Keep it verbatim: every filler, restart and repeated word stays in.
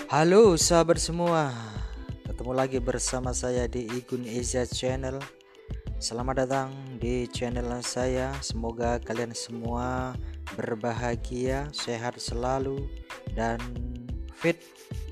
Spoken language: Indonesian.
Halo sahabat semua, ketemu lagi bersama saya di Igun Asia Channel. Selamat datang di channel saya. Semoga kalian semua berbahagia, sehat selalu, dan fit